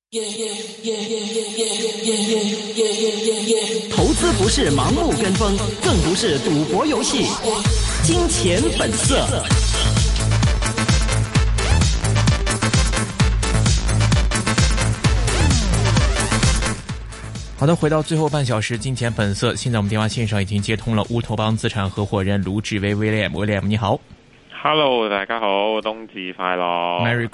投資不是盲目跟風，更不是賭博遊戲。金錢本色。 好的，回到最後半小時，金錢本色。現在我們電話線上已經接通了烏托邦資產合夥人盧志威 William， 你好。 Hello， 大家好，冬至快樂 ，Merry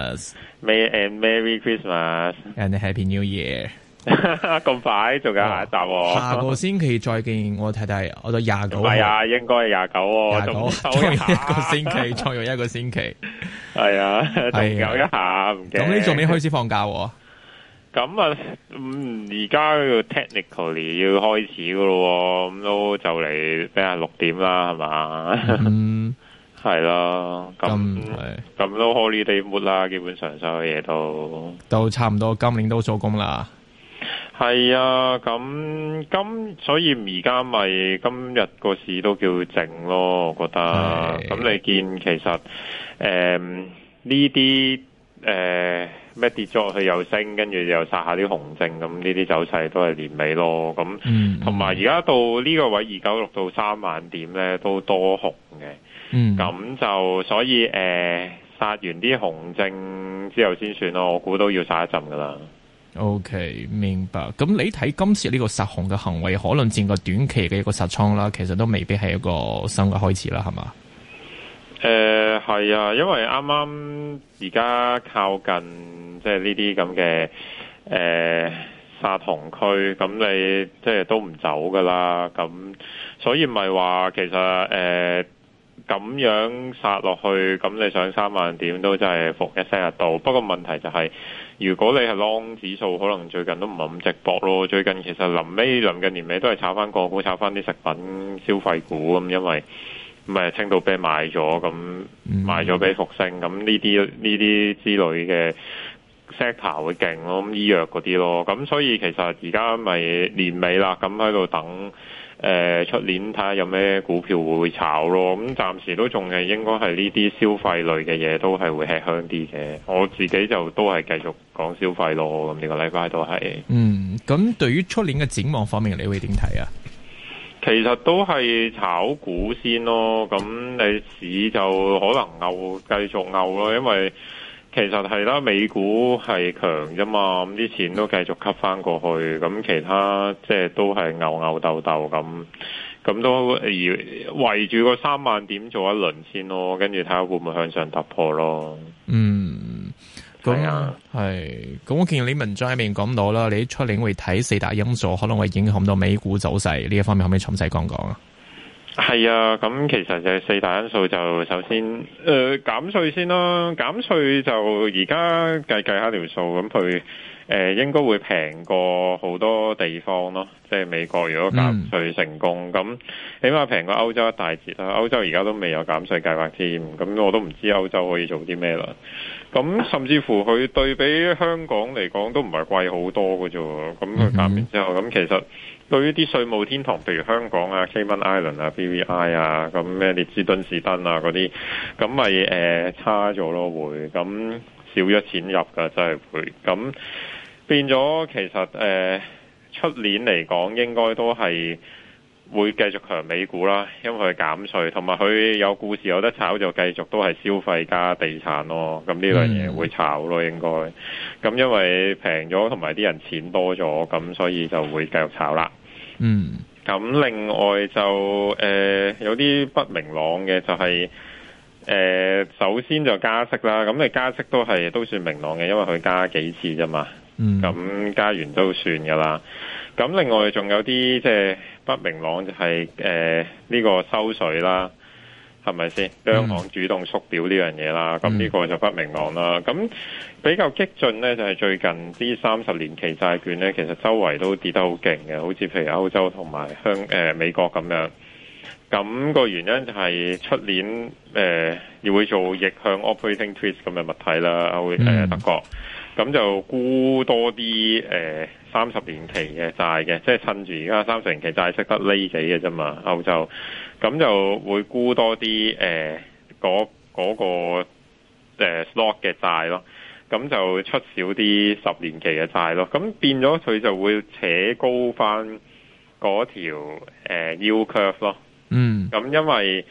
Christmas，Merry Christmas，and Happy New Year。 咁快仲有下一集喎？ 下個星期再見，我睇睇，我到29號。 係啊，應該係29喎， 仲有一個星期，仲有一個星期。 係啊，仲有一下唔記得。 咁你仲未開始放假喎？ 咁啊，而家要 technically 要開始噶咯，咁都就嚟俾下6點啦，係嘛？係咯，咁都 holiday mood 啦，基本上所有嘢都差唔多，今年都做工啦。 係啊，所以而家咪今日個市都叫靜咯，我覺得。咁你見其實呢啲咩跌咗落去又升，跟住又殺下啲紅證，咁呢啲走勢都係年尾咯。咁同埋而家到呢個位296到3萬點咧，都多紅嘅。咁就所以殺完啲紅證之後先算咯，我估都要殺一陣噶啦。 OK， 明白。咁你睇今次呢個殺紅嘅行為，可能佔個短期嘅一個殺倉啦，其實都未必係一個新嘅開始啦，係嘛？ 係啊，因為啱啱而家靠近即係呢啲咁嘅殺紅區，咁你即係都唔走噶啦，咁所以咪話其實咁樣殺落去，咁你上3萬點都真係伏一聲入到。不過問題就係，如果你係 long 指數，可能最近都唔係咁直搏咯。最近其實臨近年尾都係炒翻個股，炒翻啲食品消費股咁，因為咪青島啤賣咗，咁賣咗俾復星，咁呢啲之類嘅 sector 會勁咯，咁醫藥嗰啲咯。咁所以其實而家咪年尾啦，咁喺度等。出年睇下有咩股票會炒咯，咁暫時都仲係應該係呢啲消費類嘅嘢都係會吃香啲嘅。我自己就都係繼續講消費咯，咁呢個禮拜都係。 咁對於出年嘅展望方面，你會點睇啊？ 其實都係炒股先咯，咁你市就可能繼續牛咯，因為其實係啦，美股係強啫嘛，咁啲錢都繼續吸翻過去，咁其他即係都係牛鬥咁都圍住個3萬點做一輪先咯，跟住睇下會唔會向上突破咯。 係啊，咁我見你文章入面講到啦，你出年會睇4大因素可能會影響到美股走勢，呢一方面可唔可以詳細講講啊？ 係啊，咁其實就係4大因素，就首先減稅先啦。減稅就而家計下條數，咁佢應該會平過好多地方咯。即係美國如果減稅成功，咁起碼平過歐洲一大截啦。歐洲而家都未有減稅計劃添，咁我都唔知歐洲可以做啲咩啦。咁甚至乎佢對比香港嚟講都唔係貴好多嘅啫。咁佢減完之後，咁其實對於啲稅務天堂，譬如香港啊、Cayman Island 啊、BVI 啊，咁咩列支敦士登啊嗰啲，咁咪差咗咯會，咁少咗錢入㗎真係會，咁變咗其實出年嚟講應該都係會繼續強美股啦，因為佢減稅，同埋佢有故事有得炒，就繼續都係消費加地產咯。咁呢兩嘢會炒咯，應該。咁因為平咗，同埋啲人錢多咗，咁所以就會繼續炒啦。咁另外就有啲不明朗嘅就係首先就加息啦。咁你加息都算明朗嘅，因為佢加幾次啫嘛。咁加完都算噶啦。咁另外仲有啲即係不明朗就係呢個收水啦，係咪先？央行主動縮表呢樣嘢啦，咁呢個就不明朗啦。咁比較激進呢，就係最近啲30年期債券呢，其實周圍都跌得好勁嘅，好似譬如歐洲同埋美國咁樣。咁個原因就係出年要會做逆向 operating twist 咁嘅物體啦，德國。咁就沽多啲30年期嘅債嘅，即係趁住而家30年期債息得呢幾嘅啫嘛，歐洲。咁就會沽多啲嗰個slot 嘅債咯。 咁就出少啲10年期嘅債咯，咁變咗佢就會扯高翻嗰條yield curve 咯。咁因為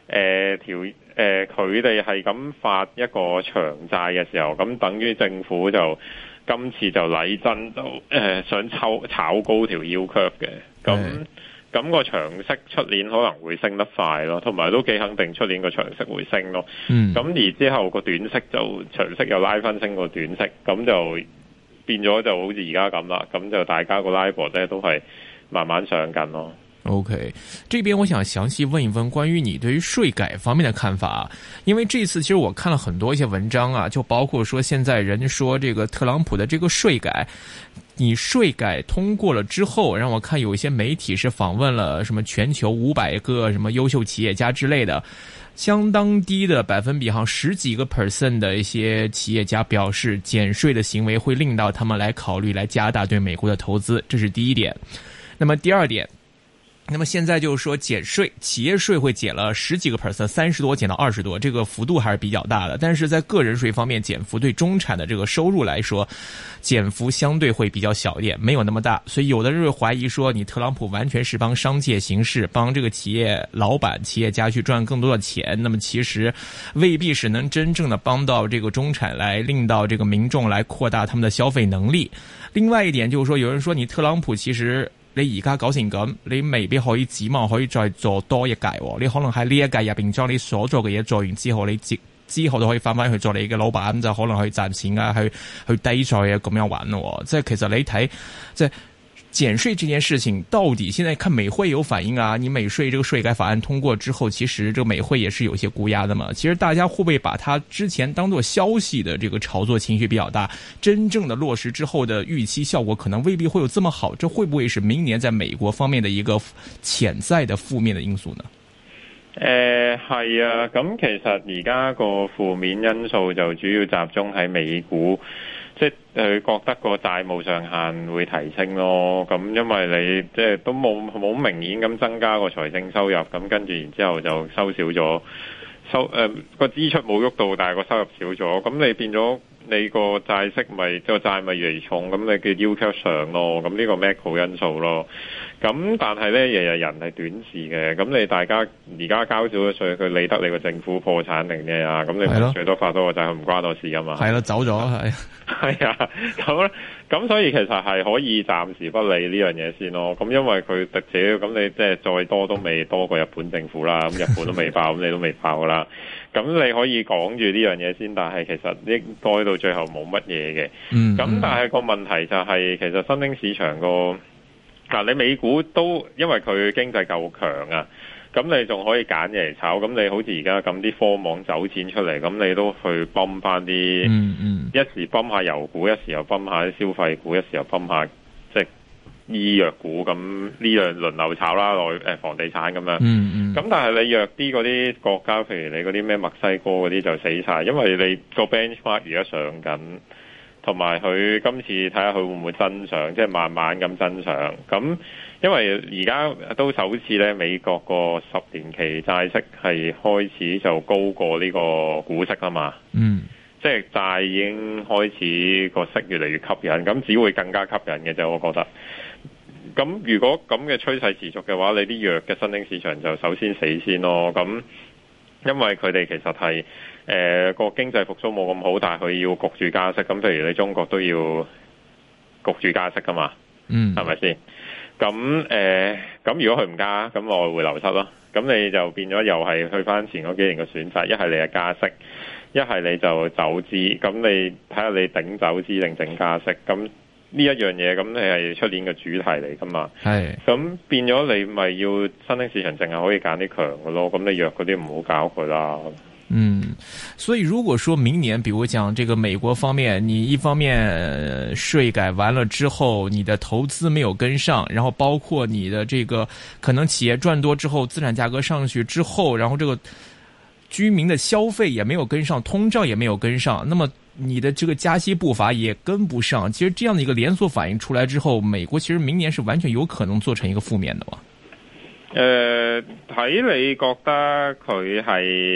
佢哋係咁發一個長債嘅時候，咁等於政府就今次就禮真就想炒高條 yield curve 嘅，咁個長息出年可能會升得快咯，同埋都幾肯定出年個長息會升咯。咁而之後個短息就長息又拉翻升個短息，咁就變咗就好似而家咁啦。咁就大家個 LIBOR 咧都係慢慢上緊咯。 OK， 這邊我想詳細問一問關於你對於稅改方面的看法，因為這次其實我看了很多一些文章啊，就包括說現在人說這個特朗普的這個稅改，你稅改通過了之後，讓我看有一些媒體是訪問了什麼全球500個什麼優秀企業家之類的，相當低的百分比，好像10幾個% 的一些企業家表示減稅的行為會令到他們來考慮來加大對美國的投資，這是第一點。那麼第二點，那麼現在就是說減稅，企業稅會減了10幾個%， 30多減到20多，這個幅度還是比較大的。但是在個人稅方面，減幅對中產的這個收入來說，減幅相對會比較小一點，沒有那麼大。所以有的人會懷疑說，你特朗普完全是幫商界行事，幫這個企業老闆、企業家去賺更多的錢，那麼其實未必是能真正的幫到這個中產，來令到這個民眾來擴大他們的消費能力。另外一點就是說，有人說你特朗普其實你而家搞成咁，你未必可以指望可以再做多一屆，你可能喺呢一屆入邊將你所做嘅嘢做完之後，你之後都可以翻返去做你嘅老闆，就可能去賺錢啊，去低稅啊咁樣玩咯。即係其實你睇即係減稅這件事情，到底現在看美匯有反應啊？你美稅這個稅改法案通過之後，其實這個美匯也是有些估壓的嘛。其實大家會不會把它之前當作消息的這個炒作情緒比較大，真正的落實之後的預期效果可能未必會有這麼好？這會不會是明年在美國方面的一個潛在的負面的因素呢？ 係啊，咁其實而家個負面因素就主要集中喺美股。即係佢覺得個債務上限會提升咯，咁因為你即係都冇明顯咁增加個財政收入，咁跟住然之後就收少咗，個支出冇喐到，但係個收入少咗，咁你變咗你個債息咪個債咪越嚟越重，咁你嘅 yield curve 上咯，咁呢個 macro 因素咯。咁但係咧，日日人係短視嘅，咁你大家而家交少咗稅，佢理得你個政府破產定咩啊？咁你最多發多個債，佢唔關我事噶嘛。係咯，走咗係啊，咁所以其實係可以暫時不理呢樣嘢先咯。咁因為佢特者，咁你即係再多都未多過日本政府啦。咁日本都未爆，咁你都未爆噶啦。咁你可以講住呢樣嘢先，但係其實應該到最後冇乜嘢嘅。咁但係個問題就係，其實新興市場個你美股都因為佢經濟夠強啊，咁你仲可以揀嘢嚟炒。咁你好似而家咁啲科網走錢出嚟，咁你都去泵翻啲，一時泵下油股，一時又泵下啲消費股，一時又泵下即係醫藥股，咁呢樣輪流炒啦，房地產咁樣。咁但係你弱啲嗰啲國家，譬如你嗰啲咩墨西哥嗰啲就死晒，因為你個 benchmark 而家上緊。同埋佢今次睇下佢會唔會增長，即係慢慢咁增長。咁因為而家都首次咧，美國個10年期債息係開始就高過呢個股息啊嘛。即係債已經開始個息越嚟越吸引，咁只會更加吸引嘅啫，我覺得。咁如果咁嘅趨勢持續嘅話，你啲弱嘅新興市場就首先死先咯。咁因為佢哋其實係個經濟復甦冇咁好，但係佢要焗住加息。咁譬如你中國都要焗住加息噶嘛，係咪先？咁如果佢唔加，咁外匯流失咯。咁你就變咗又係去翻前嗰幾年嘅選擇，一係你係加息，一係你就走資。咁你睇下你頂走資定整加息。咁呢一樣嘢，咁你係出年嘅主題嚟噶嘛？係。咁變咗你咪要新興市場淨係可以揀啲強嘅咯。咁你弱嗰啲唔好搞佢啦。 所以如果說明年，比如講這個美國方面，你一方面稅改完了之後，你的投資沒有跟上，然後包括你的這個可能企業賺多之後，資產價格上去之後，然後這個居民的消費也沒有跟上，通脹也沒有跟上，那麼你的這個加息步伐也跟不上。其實這樣的一個連鎖反應出來之後，美國其實明年是完全有可能做成一個負面的嘛？ 睇你覺得佢係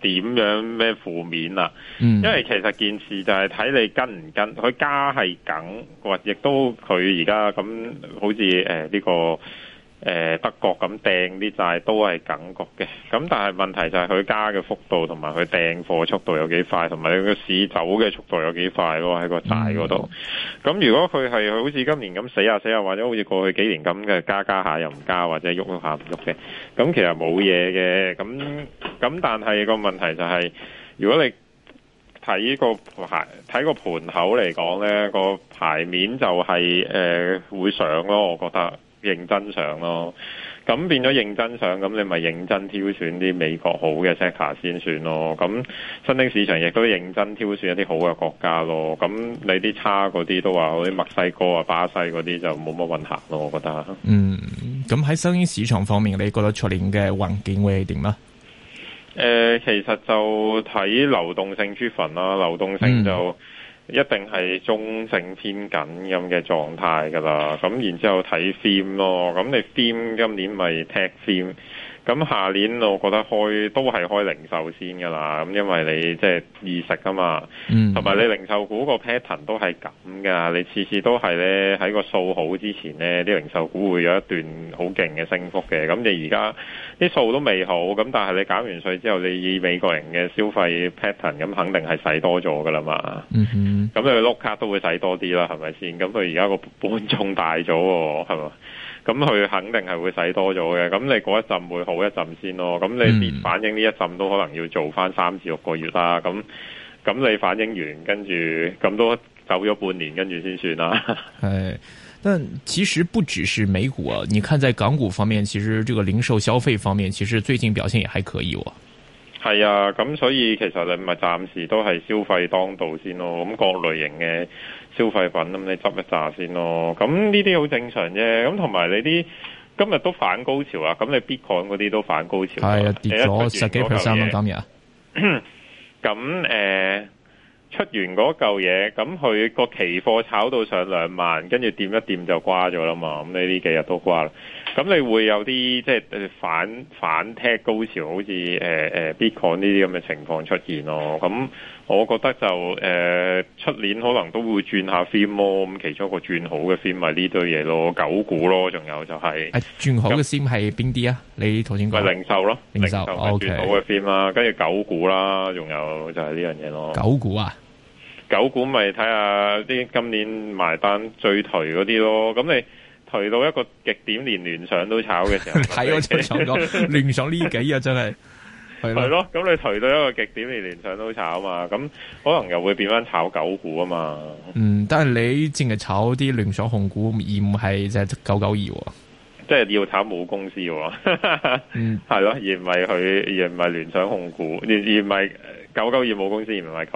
點樣咩負面啦。因為其實件事就係睇你跟唔跟，佢加係梗，或亦都佢而家咁好似呢個。德國咁掟啲債都係梗局嘅，咁但係問題就係佢加嘅幅度同埋佢掟貨速度有幾快，同埋佢個市走嘅速度有幾快咯喺個債嗰度。咁如果佢係好似今年咁死下，或者好似過去幾年咁嘅加下又唔加，或者喐下唔喐嘅，咁其實冇嘢嘅。咁但係個問題就係，如果你睇個盤口嚟講呢，個牌面就係會上咯，我覺得。認真上咯，咁變咗認真上，咁你咪認真挑選啲美國好嘅 sector 先算咯。咁新興市場亦都認真挑選一啲好嘅國家咯。咁你啲差嗰啲都話，好似墨西哥啊、巴西嗰啲就冇乜運行咯。我覺得。 咁喺新興市場方面，你覺得出年嘅環境會係點啊？ 其實就睇流動性出份啦，流動性就。一定係中性偏緊咁嘅狀態㗎啦，咁然之後睇 theme 咯，咁你 theme 今年咪 tech theme，咁下年我覺得都係開零售先㗎啦，咁因為你即係易食啊嘛，同埋你零售股個 pattern 都係咁㗎，你次次都係咧喺個數好之前咧，啲零售股會有一段好勁嘅升幅嘅，咁你而家啲數都未好，咁但係你減完稅之後，你以美國人嘅消費 pattern，咁肯定係使多咗㗎啦嘛。咁你碌卡都會使多啲啦，係咪先？咁佢而家個本重大咗喎，係嘛？咁佢肯定係會使多咗嘅。咁你嗰一陣會好一陣先咯。咁你跌反映呢一陣都可能要做翻3至6個月啦。咁你反映完，跟住咁都走咗半年，跟住先算啦。 係，但其實不只是美股啊，你看在港股方面，其實這個零售消費方面，其實最近表現也還可以喎。 係啊，咁所以其實你咪暫時都係消費當道先咯。咁各類型嘅消費品咁，你執一紮先咯。咁呢啲好正常啫。咁同埋你啲今日都反高潮啊。咁你 Bitcoin 嗰啲都反高潮。係啊，跌咗10幾%咯，今日。咁出完嗰嚿嘢，咁佢個期貨炒到上2萬，跟住掂一掂就瓜咗啦嘛。咁你呢幾日都瓜啦。咁你會有啲即係反踢高潮，好似Bitcoin 呢啲咁嘅情況出現咯。咁我覺得就出年可能都會轉下 theme 咯。咁其中一個轉好嘅 theme 咪呢堆嘢咯，狗股咯，仲有就係轉好嘅 theme 係邊啲啊？你頭先講零售咯，零售係轉好嘅 theme 啦，跟住狗股啦，仲有就係呢樣嘢咯。 狗股啊？ 狗股咪睇下啲今年埋單最頹嗰啲咯。咁你頹到一個極點，連聯想都炒嘅時候， 睇我真係想講聯想呢幾日真係係咯。咁你頹到一個極點，連聯想都炒嘛，咁可能又會變翻炒狗股啊嘛。 但係你淨係炒啲聯想控股，而唔係就係992， 即係要炒母公司喎。係咯，而唔係聯想控股，而唔係992母公司，而唔係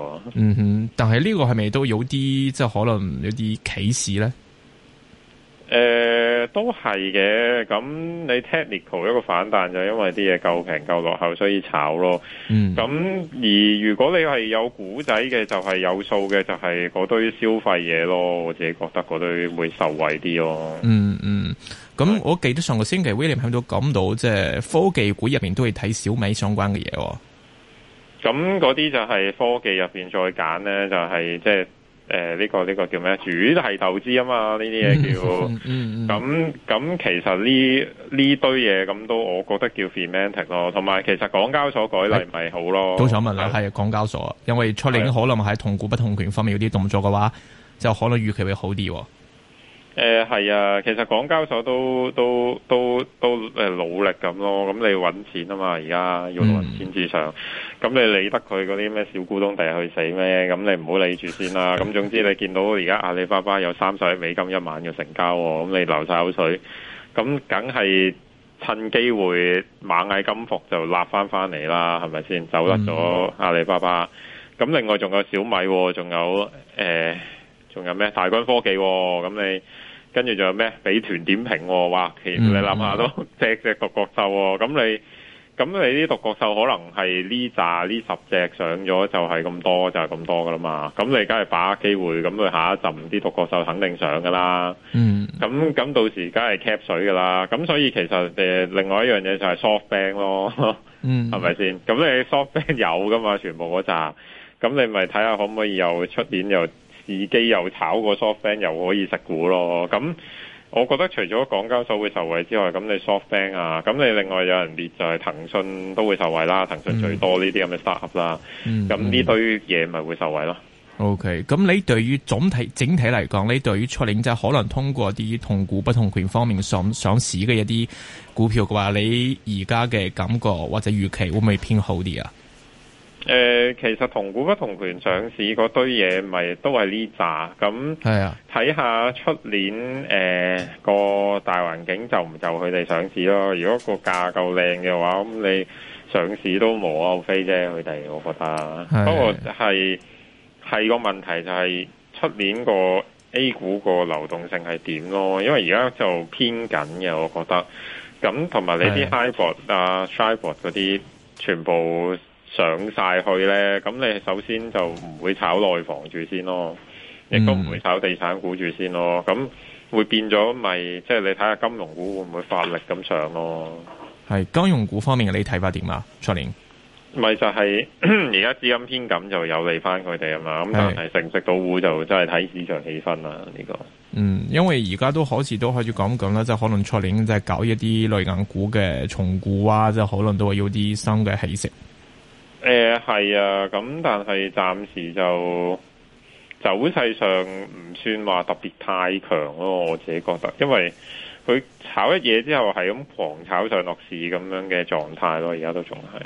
992。 但係呢個係咪都有啲即係可能有啲歧視咧？ 都係嘅。咁你 technical 一個反彈就因為啲嘢夠平夠落後，所以炒咯。咁而如果你係有股仔嘅，就係有數嘅，就係嗰堆消費嘢咯。我自己覺得嗰堆會受惠啲咯。 咁我記得上個星期 William 喺度講到，即係科技股入邊都會睇小米相關嘅嘢。 咁嗰啲就係科技入邊再揀咧，就係即係。呢個叫咩？主題投資啊嘛，呢啲嘢叫。咁其實呢堆嘢咁都，我覺得叫 thematic 咯。同埋其實港交所改例咪好咯。都想問啦，係港交所，因為出年可能喺同股不同權方面有啲動作嘅話，就可能預期會好啲。 係啊，其實港交所都努力咁咯。咁你揾錢啊嘛，而家要揾錢至上。咁你理得佢嗰啲咩小股東第日去死咩？咁你唔好理住先啦。咁總之你見到而家阿里巴巴有30億美金1晚嘅成交，咁你流晒口水，咁梗係趁機會螞蟻金服就立翻嚟啦，係咪先？走甩咗阿里巴巴。咁另外仲有小米，仲有咩？大軍科技，咁你跟住仲有咩？美團點評，哇！其實你諗下都隻隻獨角獸，咁咁你啲獨角獸可能係呢10隻上咗就係咁多，就係咁多噶啦嘛。咁你梗係把握機會，咁佢下一陣啲獨角獸肯定上噶啦。咁到時梗係 cap 水噶啦。咁所以其實另外一樣嘢就係 SoftBank 咯，係咪先？咁你 SoftBank 有噶嘛，全部嗰扎。咁你咪睇下可唔可以又出年又自己又炒個 SoftBank 又可以食股咯。咁我覺得除咗港交所會受惠之外，咁你 SoftBank 啊，咁你另外有人列就係騰訊都會受惠啦，騰訊最多呢啲咁嘅 startup 啦，咁呢堆嘢咪會受惠咯。 OK， 咁你對於整體嚟講，你對於出年即係可能通過啲同股不同權方面上市嘅一啲股票嘅話，你而家嘅感覺或者預期會唔會偏好啲啊？ 其實同股不同權上市嗰堆嘢咪都係呢扎，咁睇下出年個大環境就唔就佢哋上市咯。如果個價夠靚嘅話，咁你上市都無可厚非啫。佢哋我覺得，不過係個問題就係出年個 A 股個流動性係點咯？因為而家就偏緊嘅，我覺得。咁同埋你啲 HIBOR 啊、SHIBOR 嗰啲全部上晒去呢，咁你首先就唔會炒內房住先咯，亦都唔會炒地產股住先咯，咁會變咗咪即係你睇下金融股會唔會發力咁上咯？ 係金融股方面你睇法點啊？出年咪就係而家資金偏緊就有利翻佢哋啊嘛，咁但係食唔食到股就真係睇市場氣氛啦呢個。 因為而家都好似都開始講緊啦，即係可能出年即係搞一啲類銀股嘅重估啊，即係可能都會有啲新嘅起色。 係啊，咁但係暫時就走勢上唔算話特別太強咯，我自己覺得，因為佢炒一嘢之後係咁狂炒上落市咁樣嘅狀態咯，而家都仲係。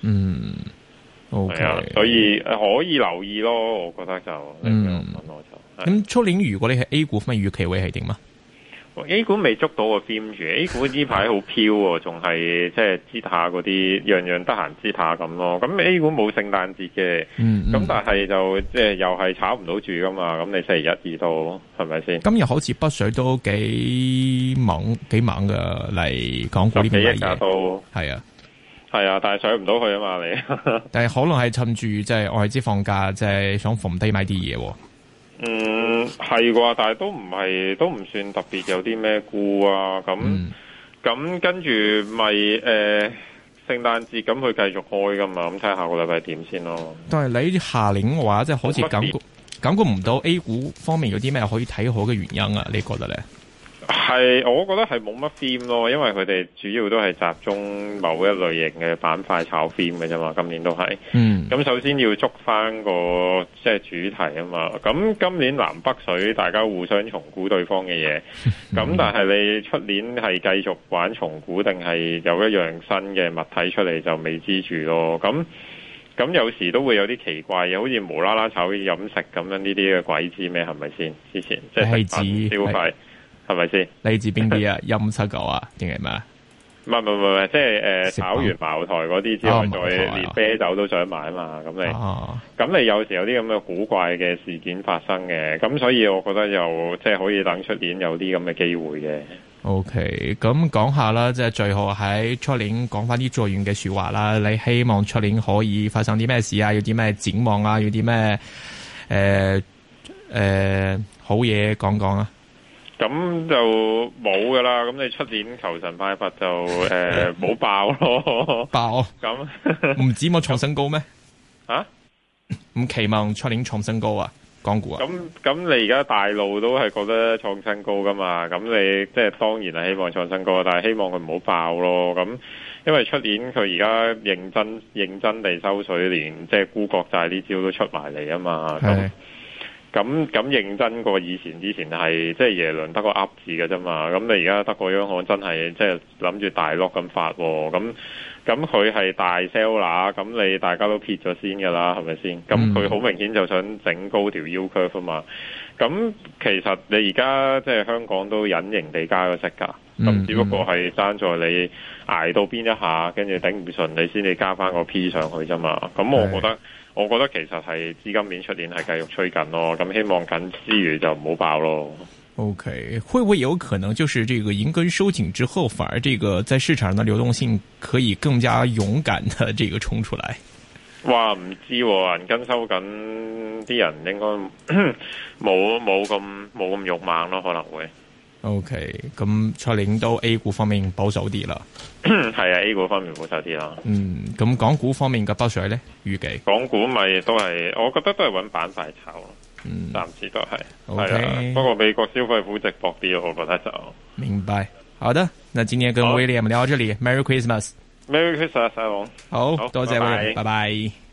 OK， 所以可以留意咯，我覺得就你咁樣問我就。 咁出年如果你係 A 股方面預期會係點啊？ A 股未捉到個 theme 住 ，A 股呢排好飄喎，仲係即係支下嗰啲樣樣得閒支下咁咯。咁 A 股冇聖誕節嘅，咁但係就即係又係炒唔到住噶嘛。咁你星期一、二都係咪先？ 今日好似北水都幾猛嘅嚟港股呢邊嘅嘢， 都係啊，但係上唔到去啊嘛你。 但係可能係趁住即係外資放假，即係想逢低買啲嘢。 係啩，但係都唔算特別有啲咩股啊，咁跟住咪聖誕節咁佢繼續開噶嘛，咁睇下下個禮拜點先咯。 但係你下年嘅話，即係好似感覺唔到 A 股方面有啲咩可以睇好嘅原因啊？你覺得咧？ 係，我覺得係冇乜 theme 咯，因為佢哋主要都係集中某一類型嘅板塊炒 theme 嘅啫嘛，今年都係。咁首先要捉翻個即係主題啊嘛。咁今年南北水大家互相重估對方嘅嘢，咁但係你出年係繼續玩重估定係有一樣新嘅物體出嚟就未知住咯。咁有時都會有啲奇怪嘅，好似無啦啦炒飲食咁樣呢啲嘅鬼知咩？係咪先？之前即係食品消費。係咪先？ 嚟自邊啲啊？159啊，定係咩啊？ 唔係，即係炒完茅台嗰啲之後，再連啤酒都想買啊嘛。咁你有時有啲咁嘅古怪嘅事件發生嘅，咁所以我覺得又即係可以等出年有啲咁嘅機會嘅。 OK，咁講下啦，即係最後喺出年講翻啲最遠嘅說話啦。你希望出年可以發生啲咩事啊？有啲咩展望啊？有啲咩好嘢講講啊？ 咁就冇噶啦，咁你出年求神拜佛就冇爆咯，爆咁唔止冇創新高咩？唔期望出年創新高啊？港股啊？ 咁你而家大路都係覺得創新高噶嘛？咁你即係當然係希望創新高，但係希望佢唔好爆咯。咁因為出年佢而家認真地收水，連即係沽國債呢招都出埋嚟啊嘛。咁認真過以前係即係耶倫得個噏字嘅啫嘛，咁你而家德國央行真係即係諗住大落咁發喎，咁佢係大 sell 啦，咁你大家都撇咗先㗎啦，係咪先？咁佢好明顯就想整高條 U curve 啊嘛，咁其實你而家即係香港都隱形地加個息㗎，咁只不過係爭在你捱到邊一下，跟住頂唔順你先至加翻個 P 上去啫嘛，咁我覺得其實係資金面出年係繼續吹緊咯，咁希望緊之餘就唔好爆咯。 OK， 會不會有可能就是這個銀根收緊之後，反而這個在市場上的流動性可以更加勇敢的這個衝出來？ 哇，唔知喎，銀根收緊，啲人應該冇咁勇猛咯，可能會。 OK， 咁蔡玲都 A 股方面保守啲啦。 係啊，A 股方面保守啲啦。 咁港股方面嘅北水咧，預計港股咪都係，我覺得都係揾板塊炒咯。暫時都係。OK， 不過美國消費股值博啲咯，我覺得就。 明白。好的，那今天跟 William 聊到這裡，Merry Christmas。 Merry Christmas， 細王。 好，多謝 William，拜拜。